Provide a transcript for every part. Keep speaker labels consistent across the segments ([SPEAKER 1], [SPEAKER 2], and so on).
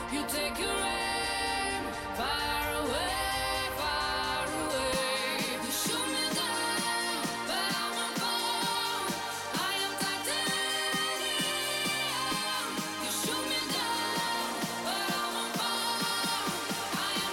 [SPEAKER 1] You take your aim far away, far away. You shoot me down, but I won't fall. I am titanium. You shoot me down, but I won't fall. I am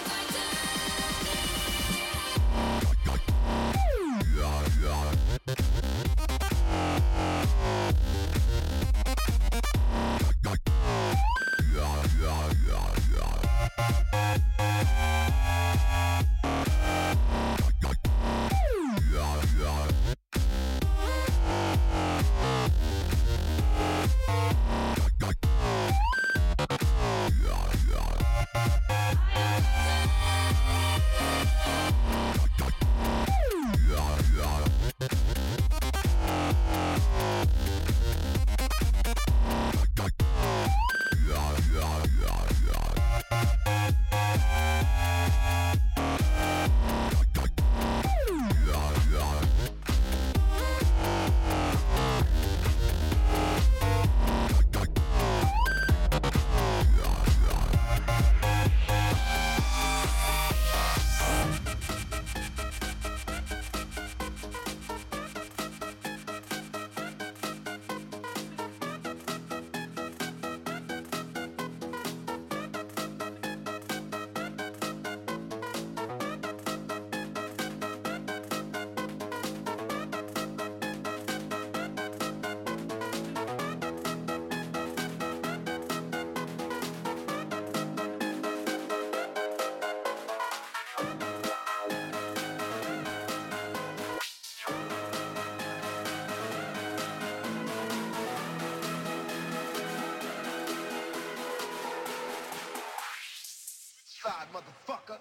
[SPEAKER 2] side, motherfucker.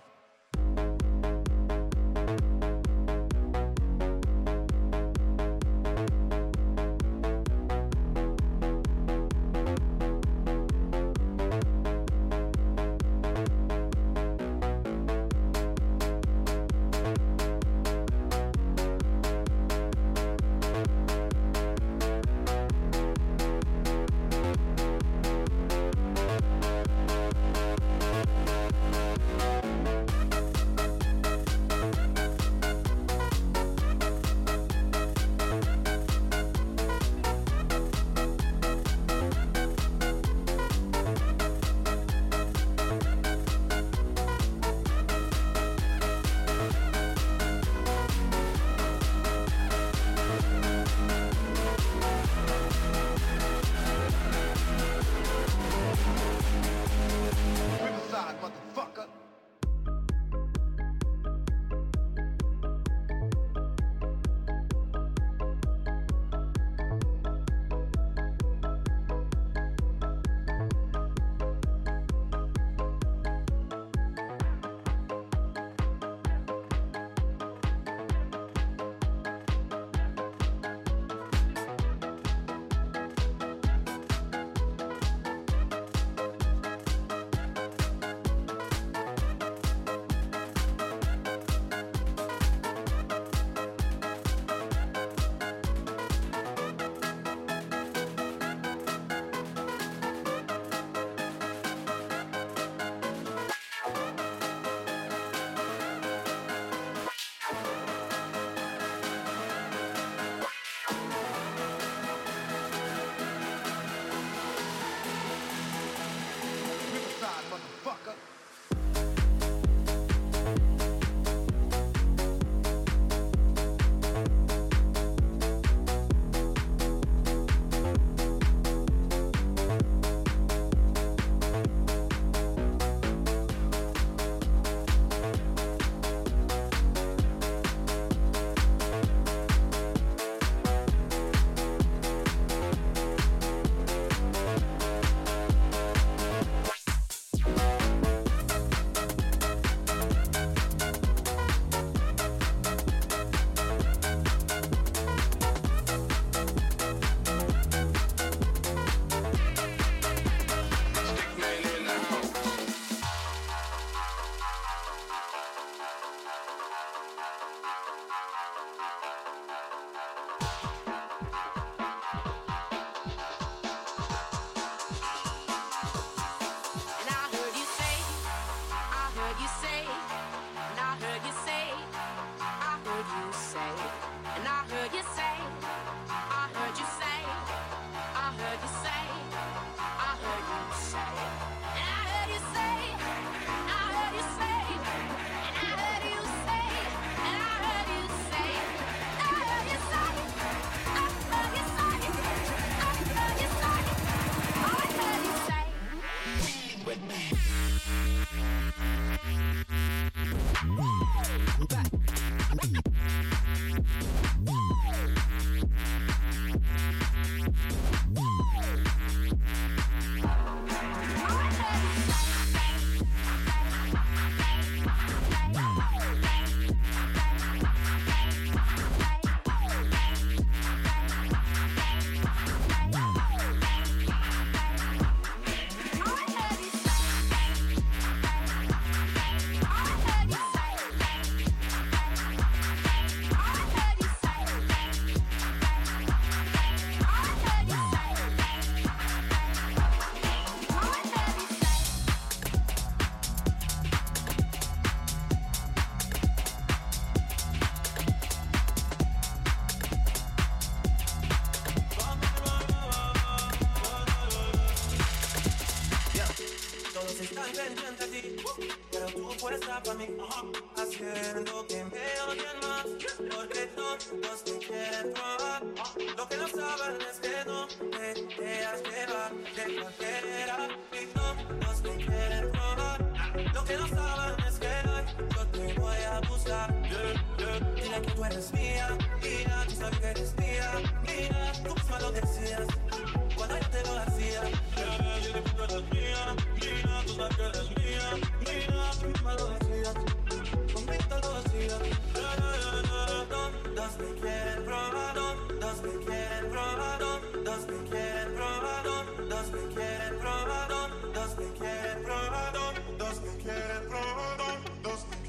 [SPEAKER 2] está pendiente a ti, pero tú puedes estar para mí, haciendo que me odien más, porque todos te quieren probar. Lo que no saben es que no te dejas llevar de cualquiera y todos te quieren probar. Lo que no saben es que hoy yo te voy a buscar. Dile que tú eres mía, mía, tú sabes que eres mía, mía, tú misma lo decías cuando yo te lo hacía. Dile que tú eres mía, mía, tú sabes que eres mía, mía, tú misma lo decías, conmigo lo hacías. Todos me quieren probar, todos me quieren probar, todos me quieren probar, todos me quieren probar, todos me quieren probar, todos me quieren probar, todos me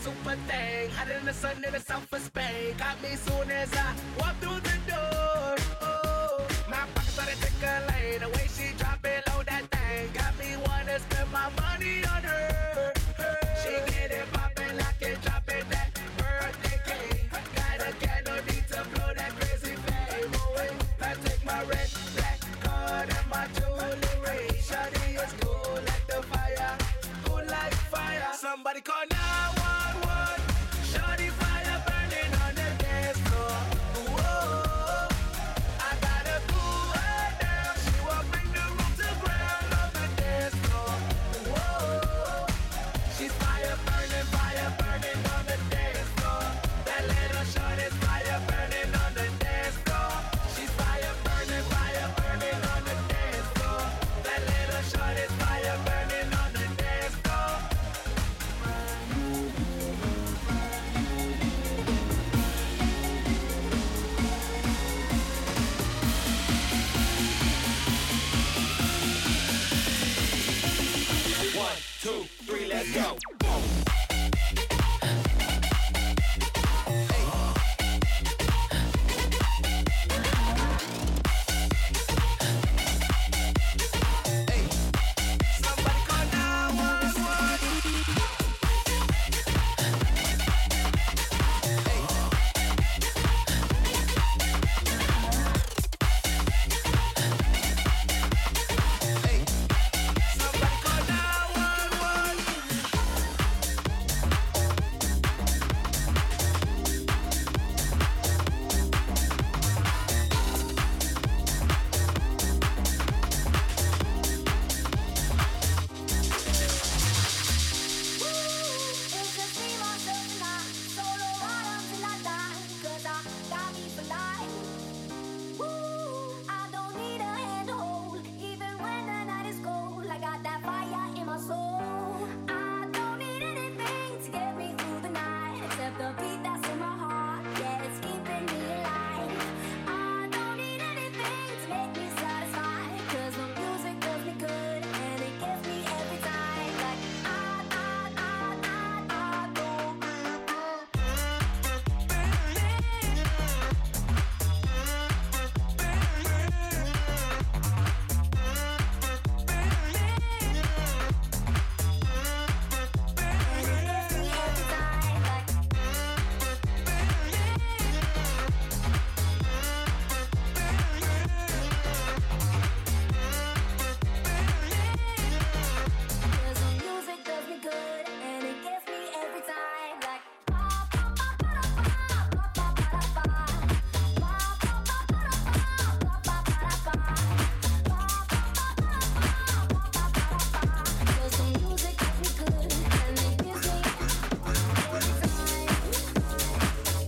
[SPEAKER 3] super thing. Hotter than the sun in the south of Spain. Got me soon as I walk through the door. Oh, my pockets started tickling. The way she drop it low, that thing got me wanna spend my money on her. She get it poppin', lock it, drop it, that birthday cake. Got a candle, need to blow that crazy flame away. I take my red, black card and my jewelry. Shawty is cool like the fire, cool like fire. Somebody call 911. Shawty fire burning on the dance floor. Whoa, I gotta cool her down. She won't bring the room to ground on the dance floor. Whoa, she's fire burning on the dance floor. That little shorty's fire burning on the dance floor. She's fire burning on the dance floor. That little shorty's fire burning on the dance floor. One, two, three, let's go. Somebody call 911. Somebody call 911.
[SPEAKER 4] It's just me, myself, and I. Solo ride until I die. 'Cause I got me for life. Woo, I don't need a hand to hold. Even when the night is cold, I got that fire in my soul. I don't need anything to get me through the night. Except the beat that's in my heart. Yeah, it's keeping me alive. I don't need anything to make me satisfied. 'Cause the music does me good. And it gets me every time. Like, Cause the music does me good and it gets me every time. Like, cause the music does me good and it gives me every time.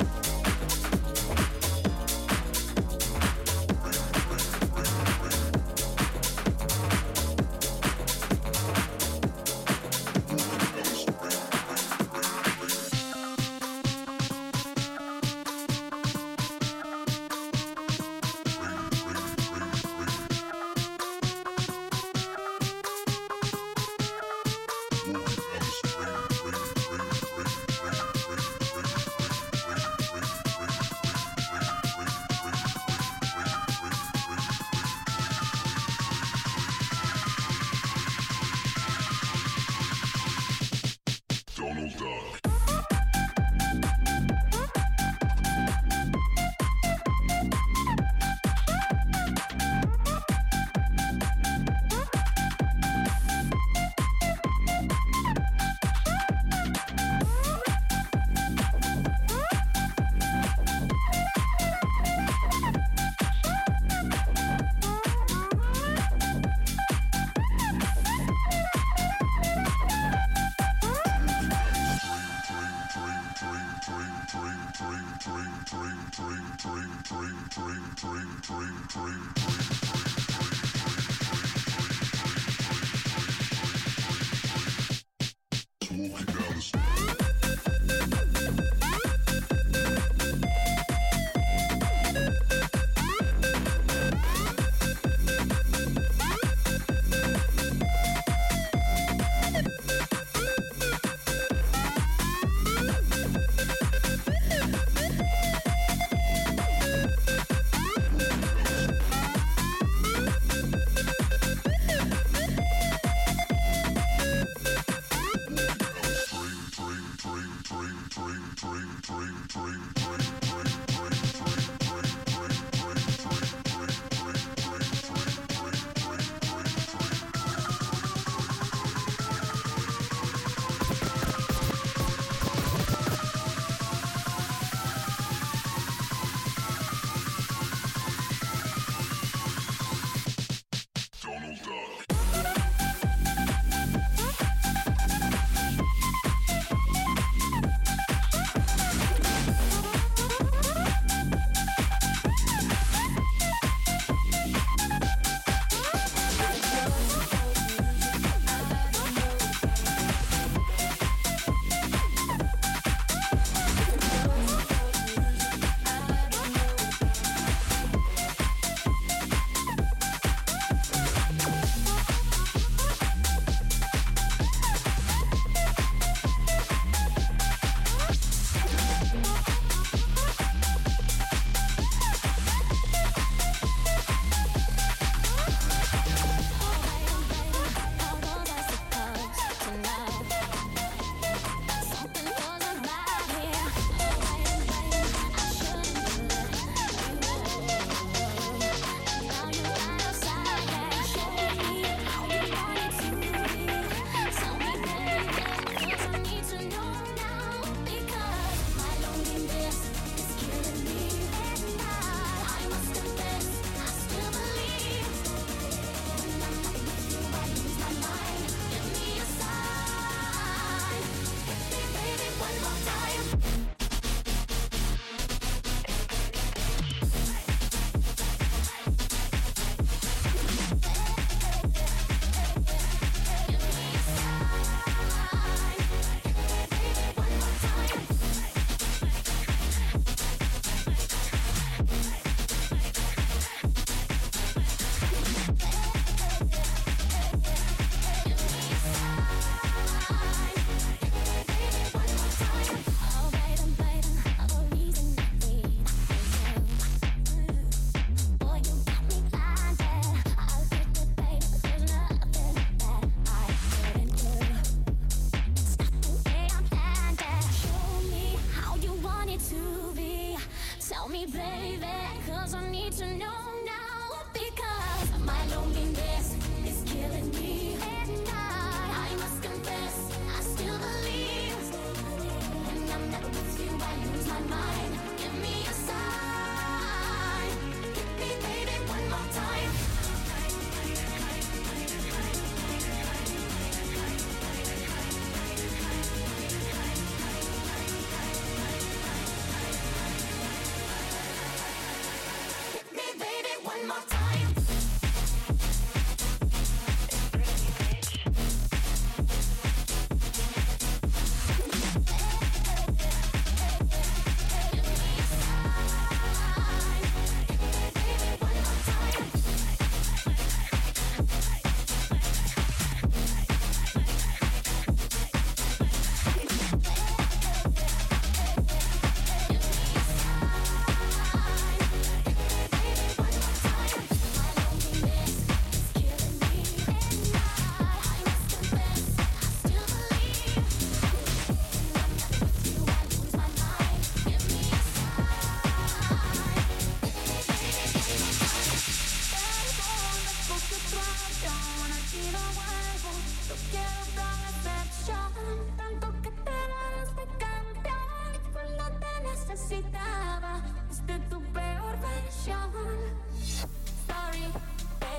[SPEAKER 5] Donald Duck.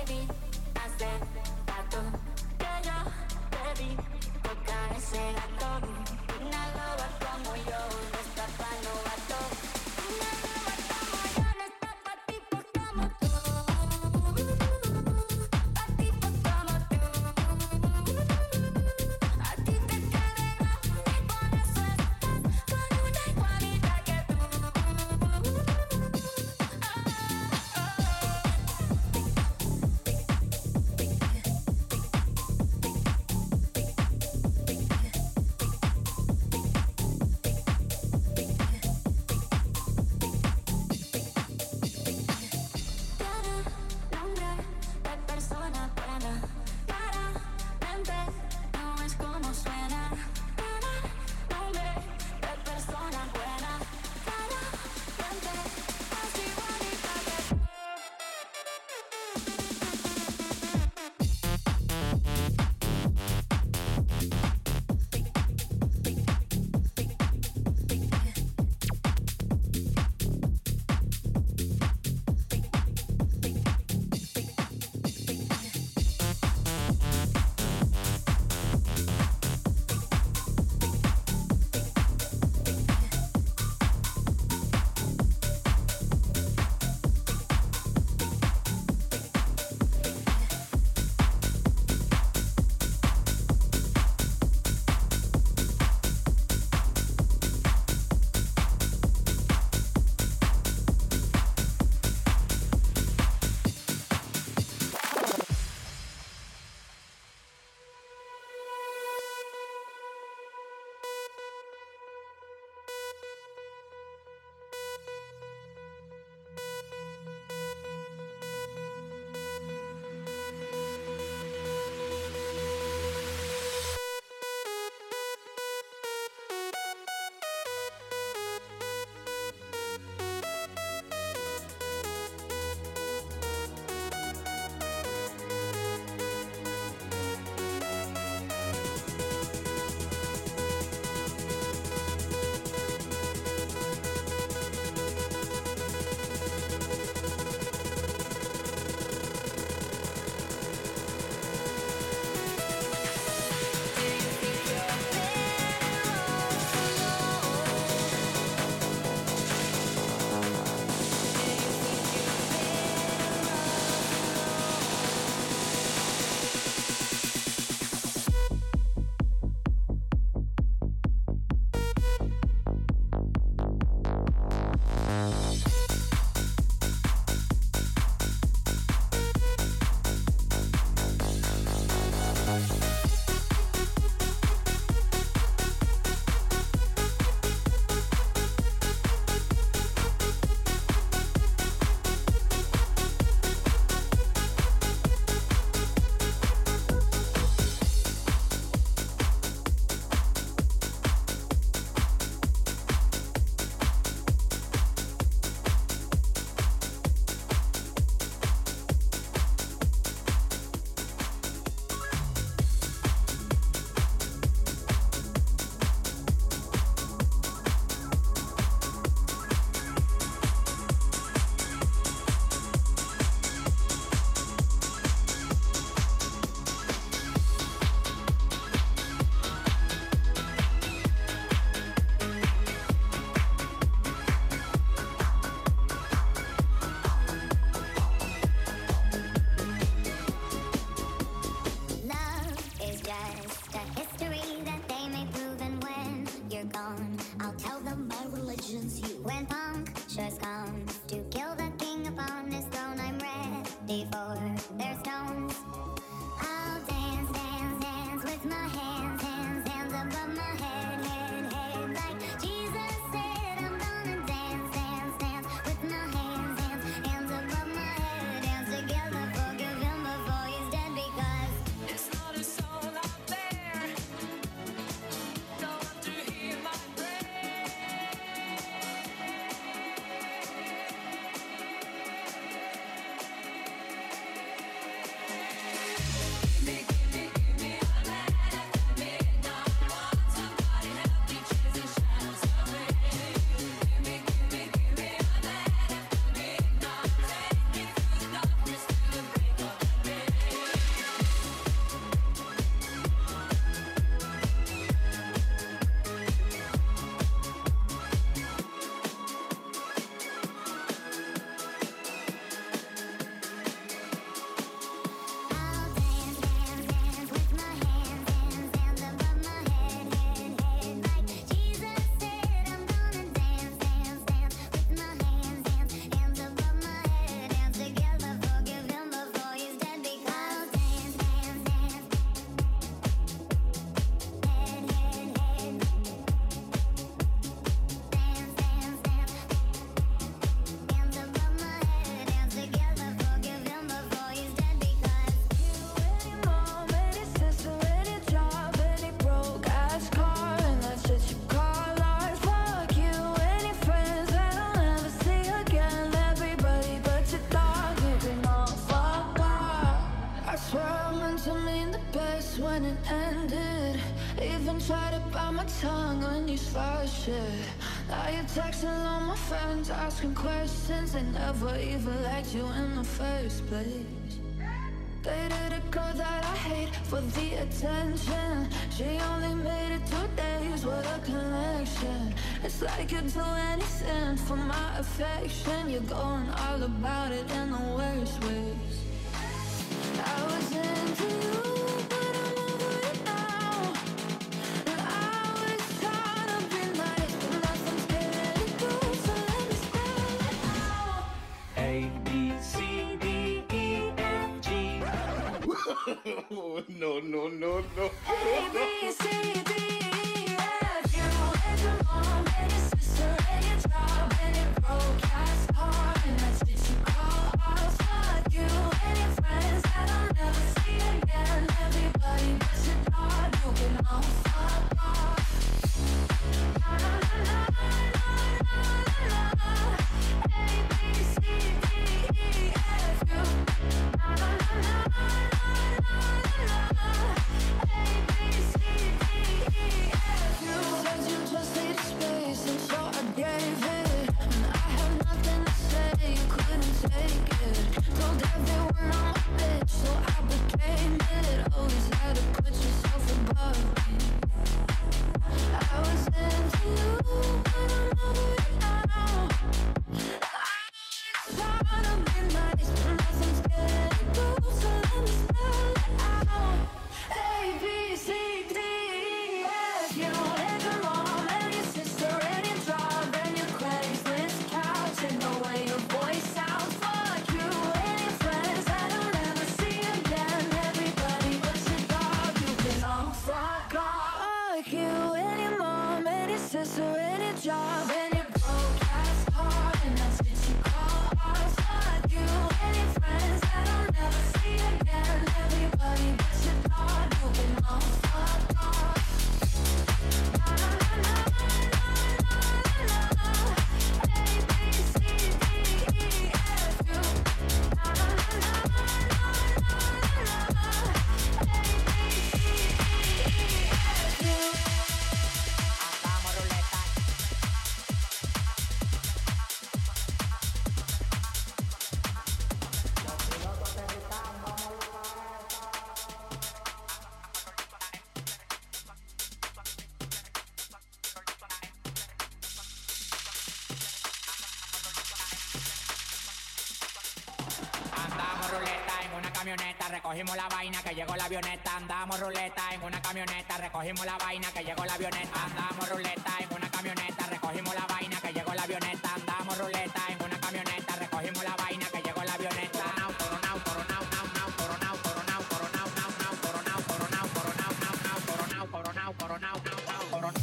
[SPEAKER 4] baby, hace rato que yo te vi tocar ese gato. Una loba como yo no está pa' novato. Una loba como yo no está pa' tipos como tú. Pa' tipos como tú. A ti te queda y por eso estás con una igualita que tú. hasn't ended. Even tried to bite my tongue when you started shit. Now you're texting all my friends, asking questions. They never even liked you in the first place. Dated a girl that I hate for the attention. She only made it 2 days, what a connection. It's like you'd do anything for my affection. You're going all about it in the worst ways. I was into you, but I'm over it now. And I was trying to be nice, but nothing's getting through, so let me spell it out.
[SPEAKER 3] A, B, C, D, E, F, G. No.
[SPEAKER 4] A, B, C, D, E, F. You and your mom and your sister and your job and your broke ass car, and that's what you call off. Fuck you and your friends that I'll never see again. Everybody but your dog, you can all fuck off. Na na na na na na na. A, B, C, D, E, F. You. Na na na na na na na. A, B, C, D, E, F. You said you just needed space, and so I gave it. And I had nothing to say, you couldn't take it. Told everyone I'm a bitch, so I became it. Always had to put yourself above me. I was into you, but I'm over it now. I was trying to be nice, but nothing's getting through, so let me spell it out. A, B, C, D, E, F. You and your mom and your sister and your job and your Craigslist couch and the way your voice sounds. Fuck you and your friends that I'll never see again. Everybody but your dog, you can all fuck off. Fuck you and your mom and your sister and your job and your broke ass car, and that's what you call off. Fuck you and your friends that I'll never see again. Everybody but your dog, you can all fuck off. Na na na na na na na. A, B, C, D, E, F. You. Na na na na na na na. A, B, C, D, E, F. You.
[SPEAKER 6] Hagamos ruleta. Andamos ruleta en una camioneta, recogimos la vaina que llegó la avioneta. Andamos ruleta en una camioneta, recogimos la vaina que llegó la avioneta. Andamos ruleta en una camioneta, recogimos la vaina que llegó la avioneta. Andamos ruleta en una camioneta, recogimos la vaina que llegó la avioneta. Coronao, coronao, coronao, coronao, coronao, coronao, coronao, coronao, coronao, coronao, coronao, coronao, coronao, coronao.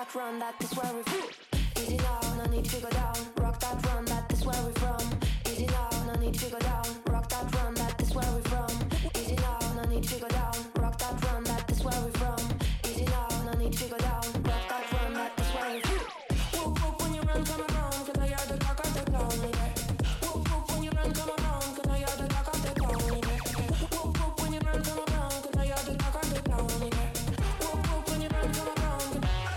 [SPEAKER 4] that run, that is where we from. Easy now, no need to go down. Rock that run, that is where we from. Easy now, no need to go down. Rock that run, that is where we from. Easy now, no need to go down. Rock that run, that is where we from. Easy now, no need to go down. Rock that run, that is where we from. Whoop whoop when you run, come around, 'cause I hear the talk of the town, yeah. Whoop whoop when you run, come around, 'cause I hear the talk of the town, yeah. Whoop whoop when you run, come around, 'cause I hear the talk of the town, yeah. Whoop whoop when you run, come around.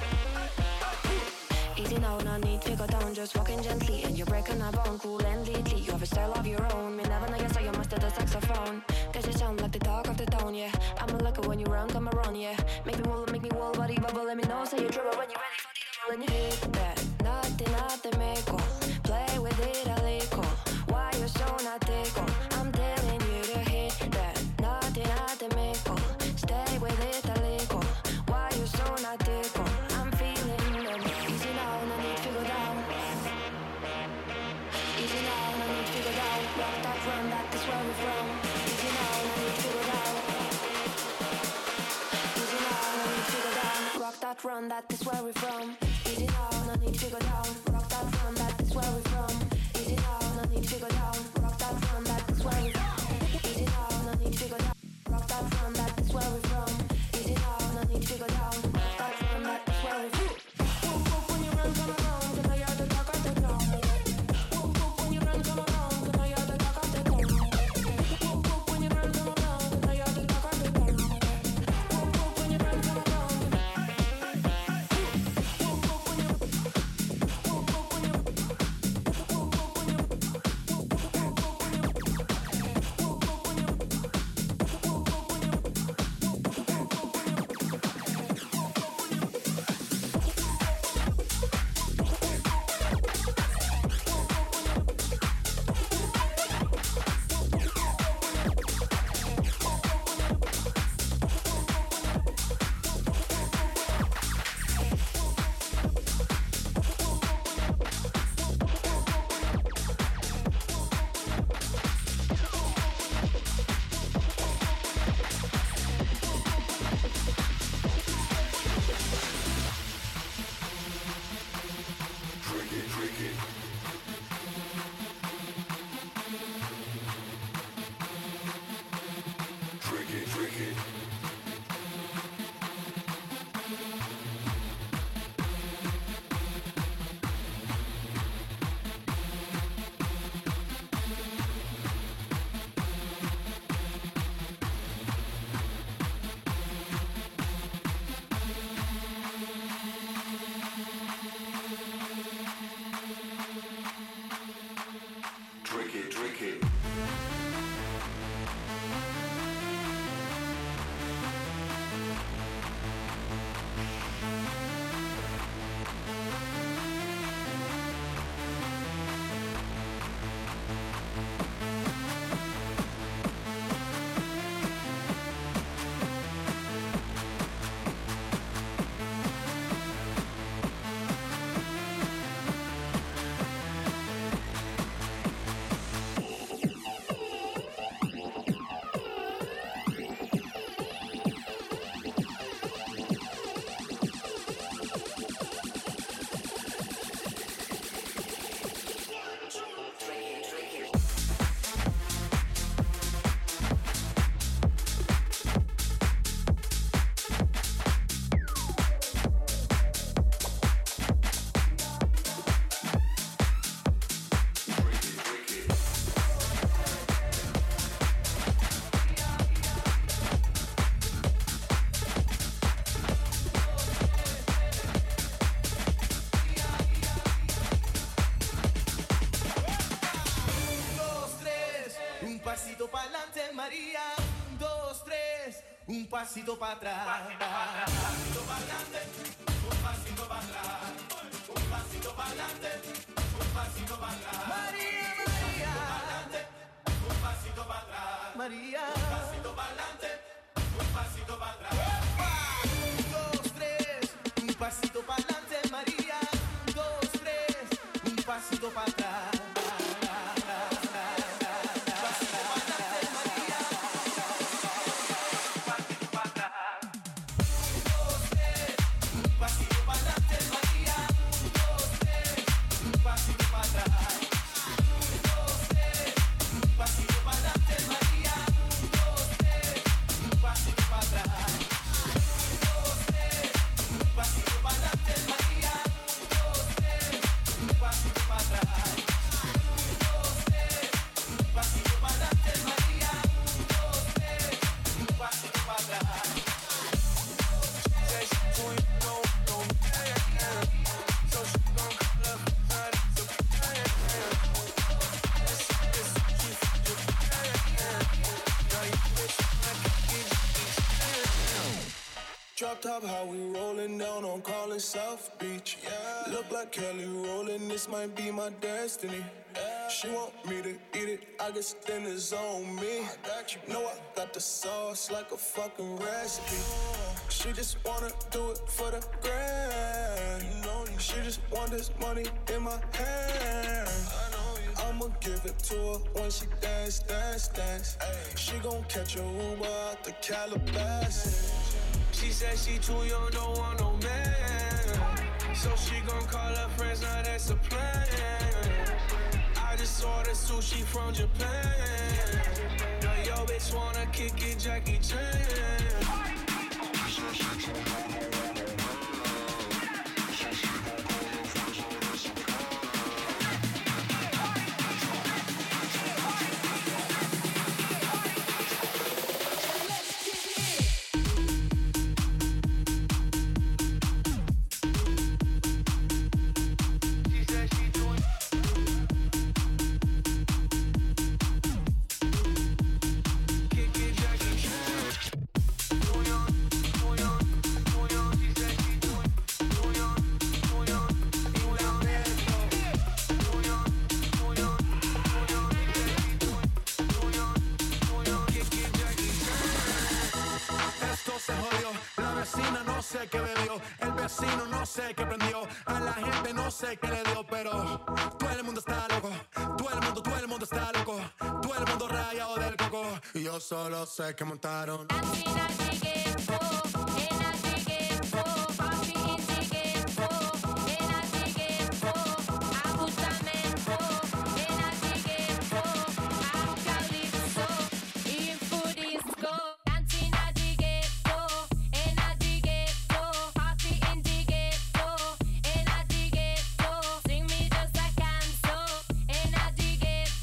[SPEAKER 4] Easy now, no need to go down, just walking gently, and you're breaking a bone, cool and neatly. You have a style of your own, me never know you, so you must have the saxophone. 'Cause you sound like the talk of the town, yeah. I'm a lucky when you run, come around, yeah. Make me wall, body bubble, let me know, say you're trouble when you're ready for the double, and you hit that. Nothing, make all. Play with it a little. Why you so not tickle? I'm telling you to hit that. Nothing, make all. Stay with it a little. Why you so not tickle? I'm feeling them. Easy now, no need to go down. Easy now, no need to go down. Rock that run, that is where we're from. Easy now, no need to go down. Easy now, no need to go down. Rock that run, that is where we're from. Easy now, no need to go down. Rock that run, that is where we're from. Easy now, no need to go down. Rock that run, that is where we're from. Easy now, no need to go down. Rock that run, that is where we're from. Easy now, no need to go down. Rock that run, that is where we're from. Whoop whoop when you run, come around, 'cause I hear the talk of the town. Whoop whoop when you run, come around, 'cause I hear the talk of the town. Whoop whoop when you run, come around, 'cause I hear the talk of the town. Whoop whoop when you run, come around. Whoop whoop when you. Whoop whoop when you. Whoop whoop when you. Whoop whoop when you. Whoop whoop when you. Whoop whoop when you.
[SPEAKER 5] Drink it.
[SPEAKER 3] pasito para adelante, María. 1, 2, 3, un pasito para atrás. Un pasito para adelante, un pasito para atrás. Un pasito para adelante, un pasito para atrás. María, María. Un pasito para atrás. María. Un pasito para adelante, un pasito para atrás. 1, 2, 3, un pasito para adelante, María. 1, 2, 3, un pasito para atrás. Pasito para adelante,
[SPEAKER 7] Drop top, how we rolling down on Collin South Beach. Yeah. Look like Kelly rolling, this might be my destiny. Yeah. She want me to eat it, I guess then it's on me. I got you. Know I got the sauce like a fucking recipe. She just wanna do it for the grand. You know, she just want this money in my hand. I'ma give it to her when she dance, dance, dance. Ay. She gon' catch a Uber out the Calabasas.
[SPEAKER 2] She said she too young, don't want no man. So she gon' call her friends, now that's a plan. I just ordered sushi from Japan. Now yo bitch wanna kick it, Jackie Chan.
[SPEAKER 8] Solo sé que montaron.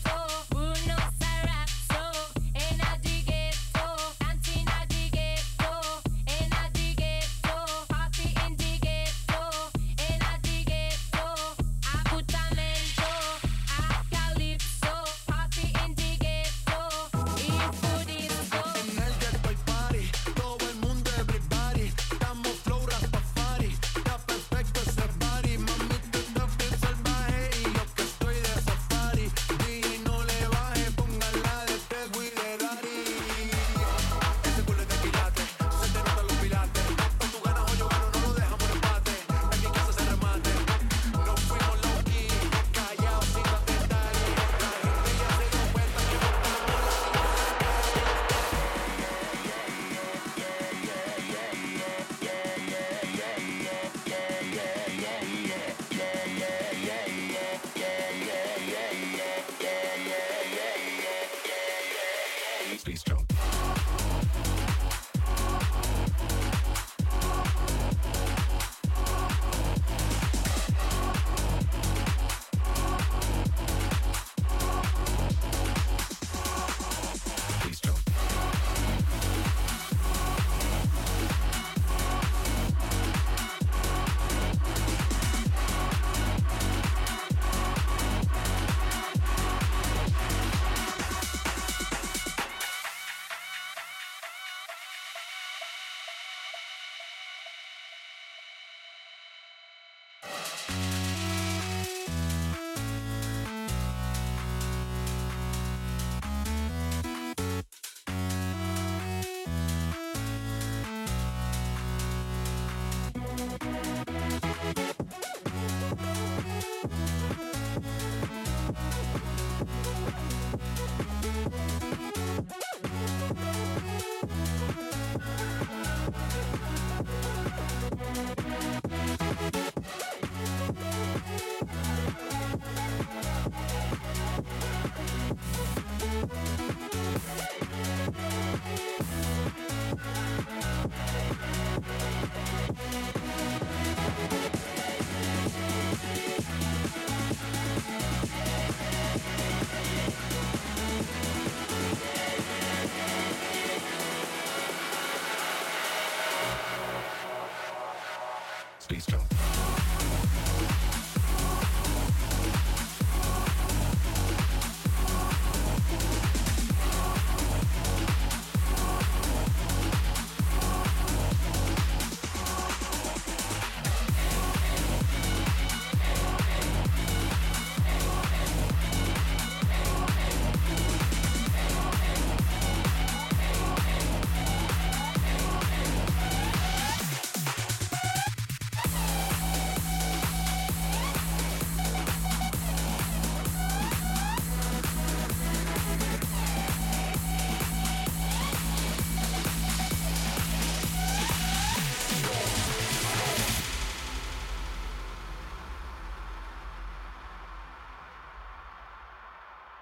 [SPEAKER 1] Dancing at the ghetto.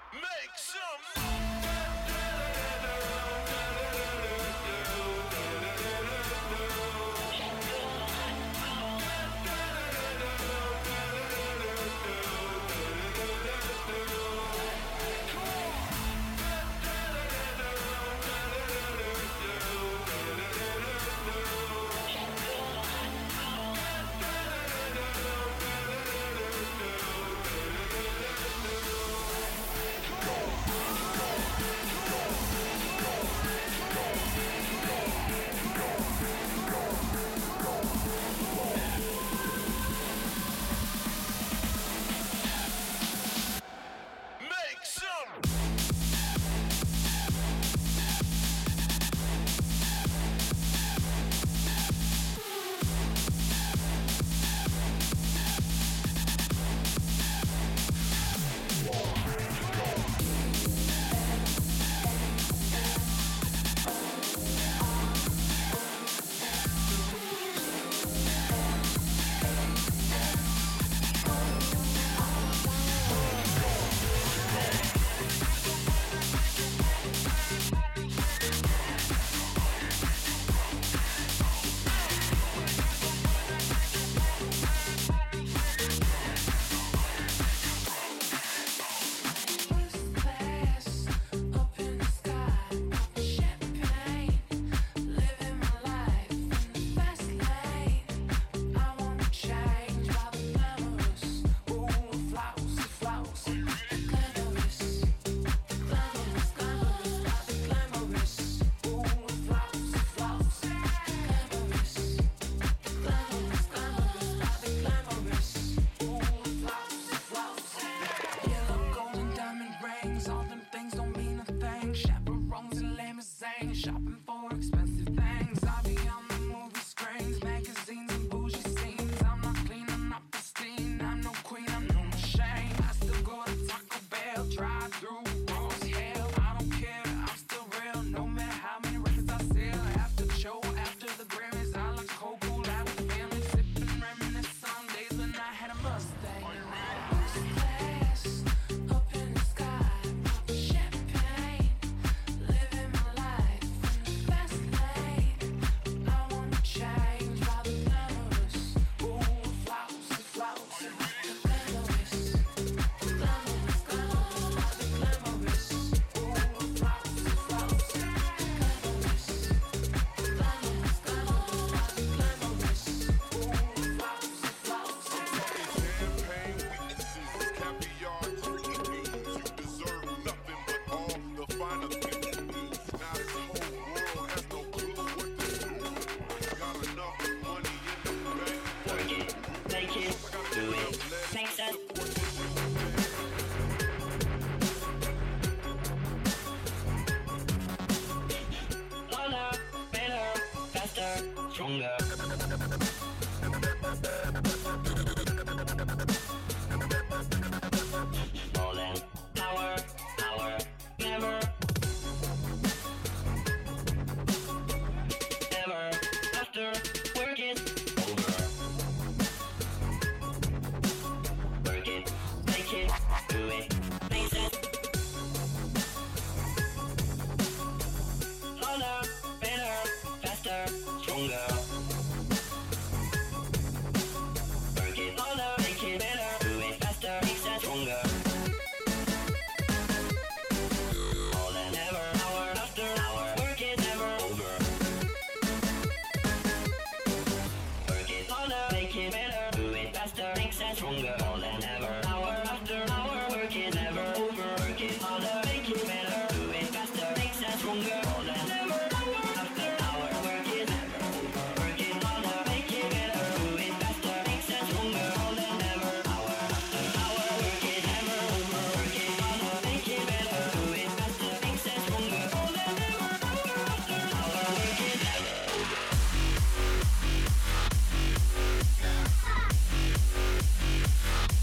[SPEAKER 7] Make some make some
[SPEAKER 3] shopping for expensive things. I be on the movie screens, magazines and bougie scenes. I'm not clean, I'm not pristine. I'm no queen, I'm no machine. I still go to Taco Bell, drive through Rose Hill. I don't care, I'm still real. No matter how many records I sell. After the show, after the Grammys, I like cold cool out with the family, sipping, reminisce on days when I had a Mustang. First class, up in the sky, popping champagne, living my life in the fast lane. I wanna change by the glamorous, ooh, flousy, flousy, glamorous, glamorous, glamorous, by the glamorous, ooh, flousy, flousy, glamorous, glamorous, glamorous, by the glamorous, ooh, flousy, flousy.
[SPEAKER 7] champagne weaknesses, caviar, turkey beans. You deserve nothing but all the finer things. Now this whole world has no clue what to do. Got enough money in the bank.
[SPEAKER 9] Work it, make it, do it, make sense. Harder, better, faster, stronger. More than power, power, never. Ever, after, work it, over. Work it, make it, do it, make sense. Harder, better, faster, stronger. Work it harder, make it better, do it faster, make sense, stronger. More than ever, hour after hour, work it never over. Work it harder, make it better, do it faster, make sense, stronger. More than ever, hour after hour, work it never over. Work it harder, make it better, do it faster, make sense, stronger. More than ever, hour after hour, work it never over. Work it harder, make it better, do it faster, make sense, stronger. More than ever, hour after hour, work it never over. Work it harder, make it better, do it faster, make sense, stronger. More than ever, hour after hour, work it never over.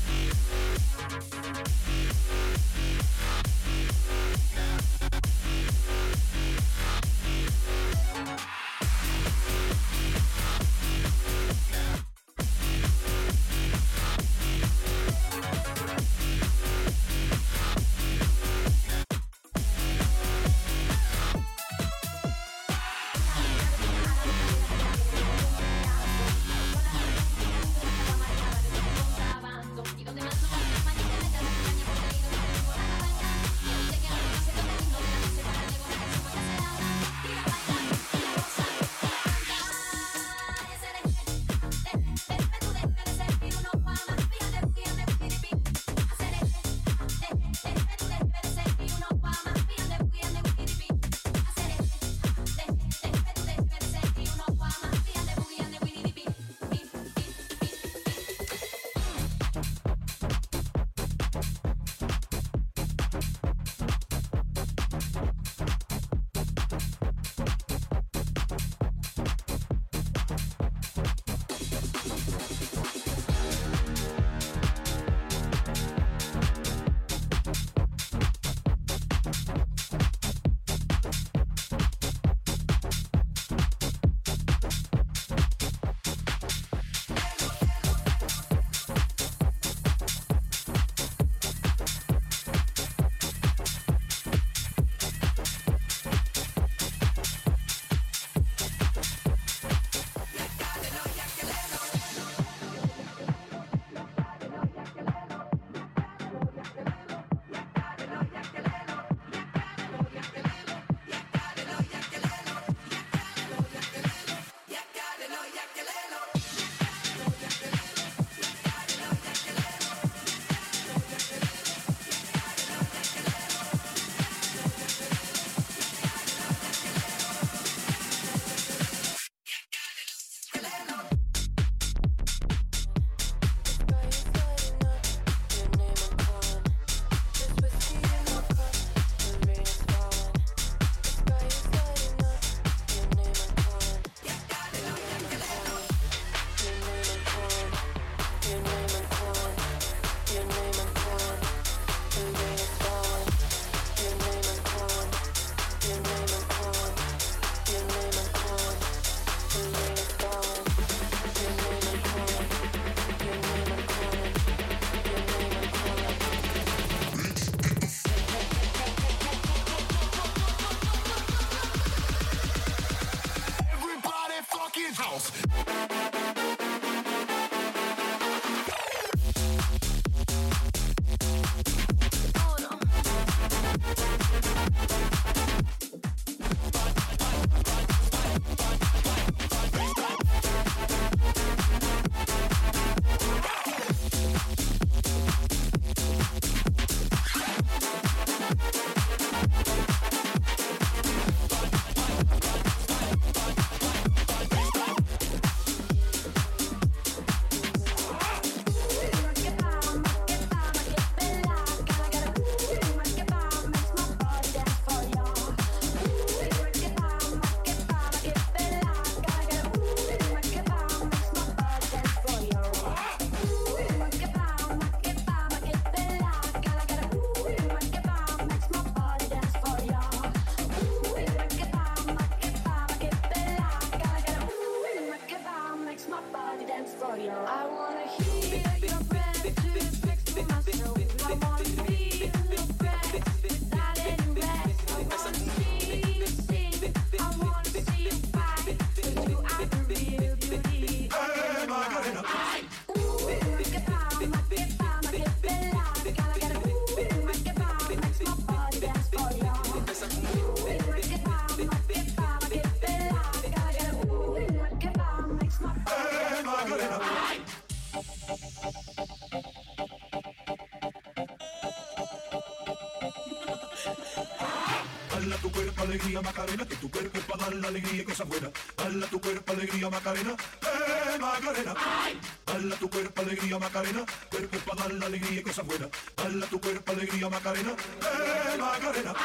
[SPEAKER 10] Dala tu cuerpo alegría Macarena, que tu cuerpo es para dar la alegría y cosas buenas. Dala tu cuerpo alegría Macarena, Macarena. Dala tu cuerpo alegría Macarena, cuerpo es para dar la alegría y cosas buenas. Dala tu cuerpo alegría Macarena, Macarena.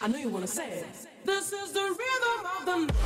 [SPEAKER 11] I know you wanna say it. This is the rhythm of the night.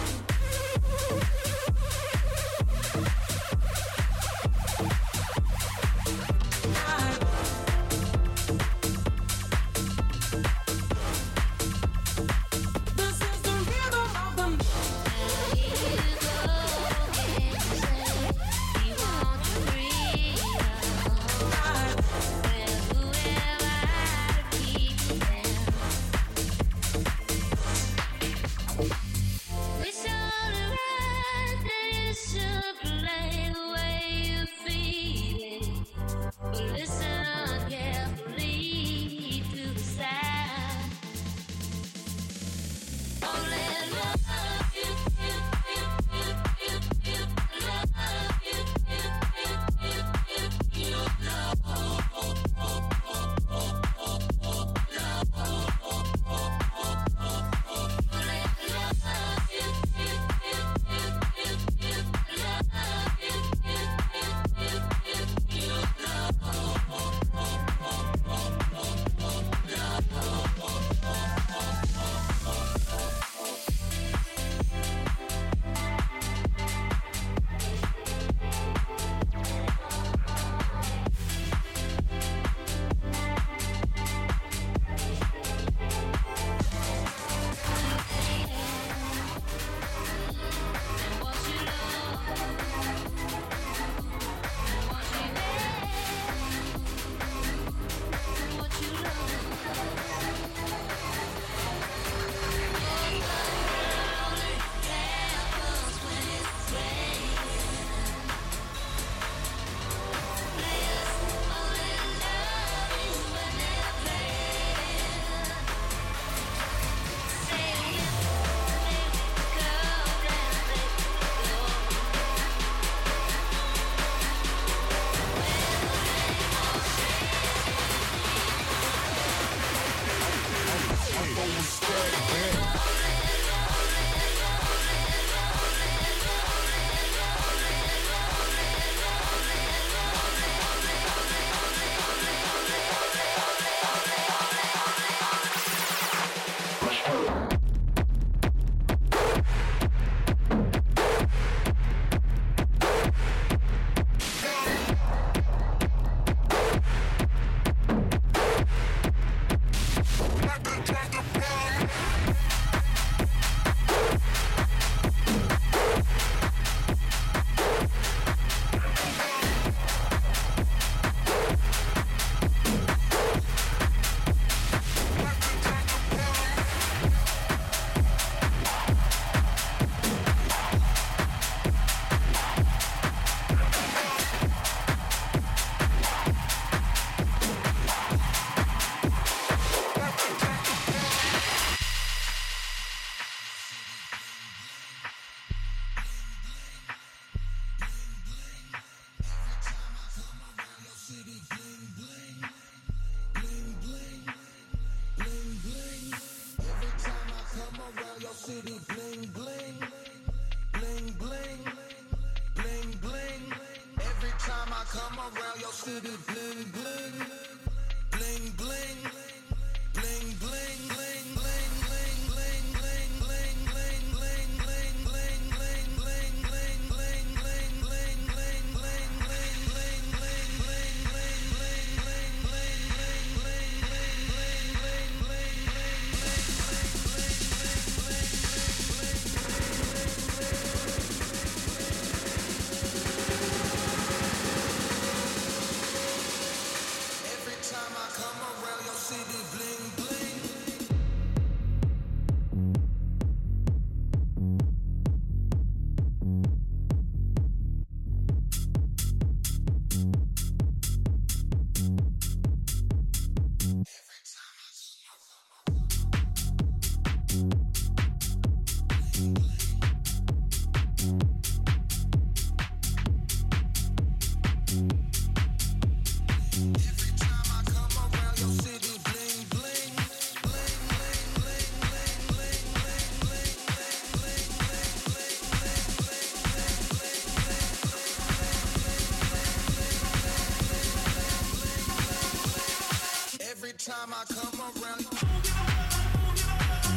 [SPEAKER 3] time I come around.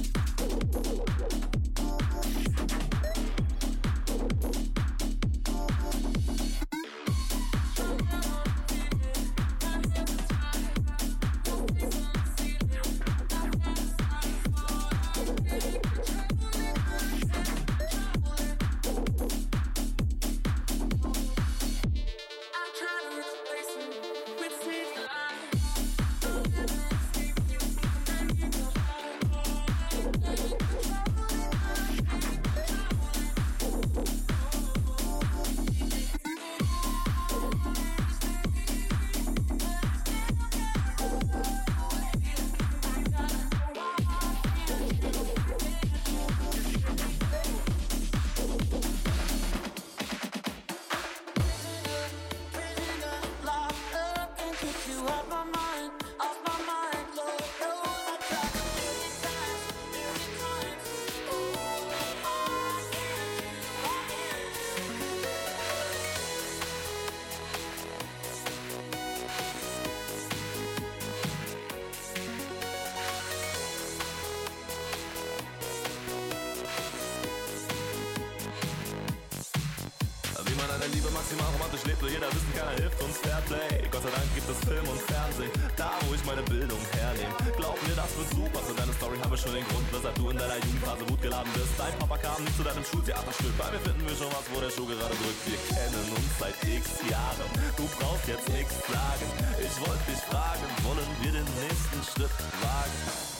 [SPEAKER 12] man eine Liebe maximal romantisch lebt, will jeder wissen, keiner hilft uns Fairplay. Gott sei Dank gibt es Film und Fernsehen, da wo ich meine Bildung hernehme. Glaub mir, das wird super, für deine Story habe ich schon den Grund, weshalb du in deiner Jugendphase wutgeladen bist. Dein Papa kam nicht zu deinem Schultheaterstück, bei mir finden wir schon was, wo der Schuh gerade drückt. Wir kennen uns seit x Jahren, du brauchst jetzt nichts sagen. Ich wollte dich fragen, wollen wir den nächsten Schritt wagen?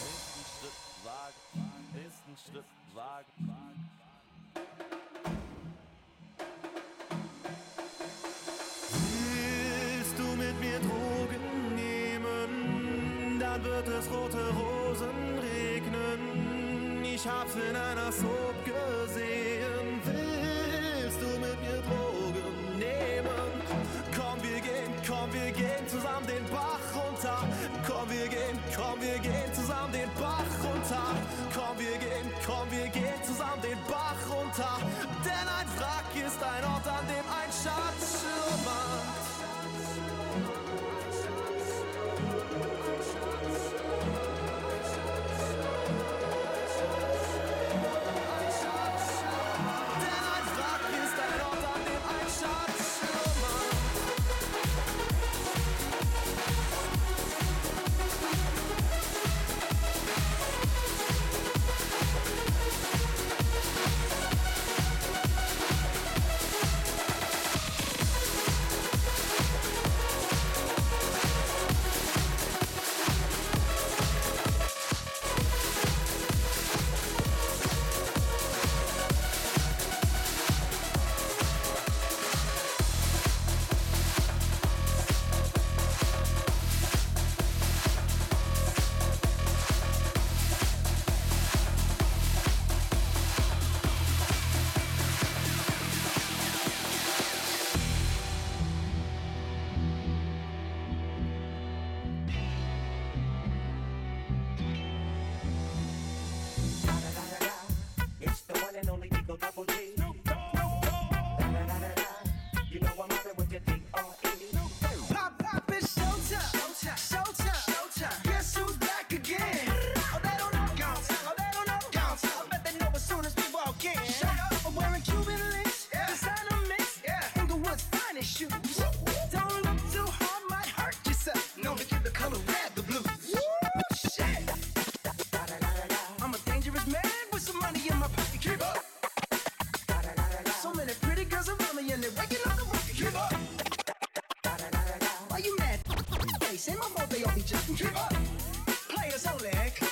[SPEAKER 12] Nächsten Schritt wagen. Willst du mit mir Drogen nehmen, dann wird es rote Rosen regnen. Ich hab's in einer Soap gesehen. Willst du mit mir Drogen nehmen? Komm, wir gehen zusammen den Bach runter. Komm, wir gehen zusammen den Bach runter. Komm, wir gehen zusammen den Bach runter. Denn ein Wrack ist ein Ort, an dem ein Schatz schlummert.
[SPEAKER 3] Ain't my fault they all be just give up. Players only.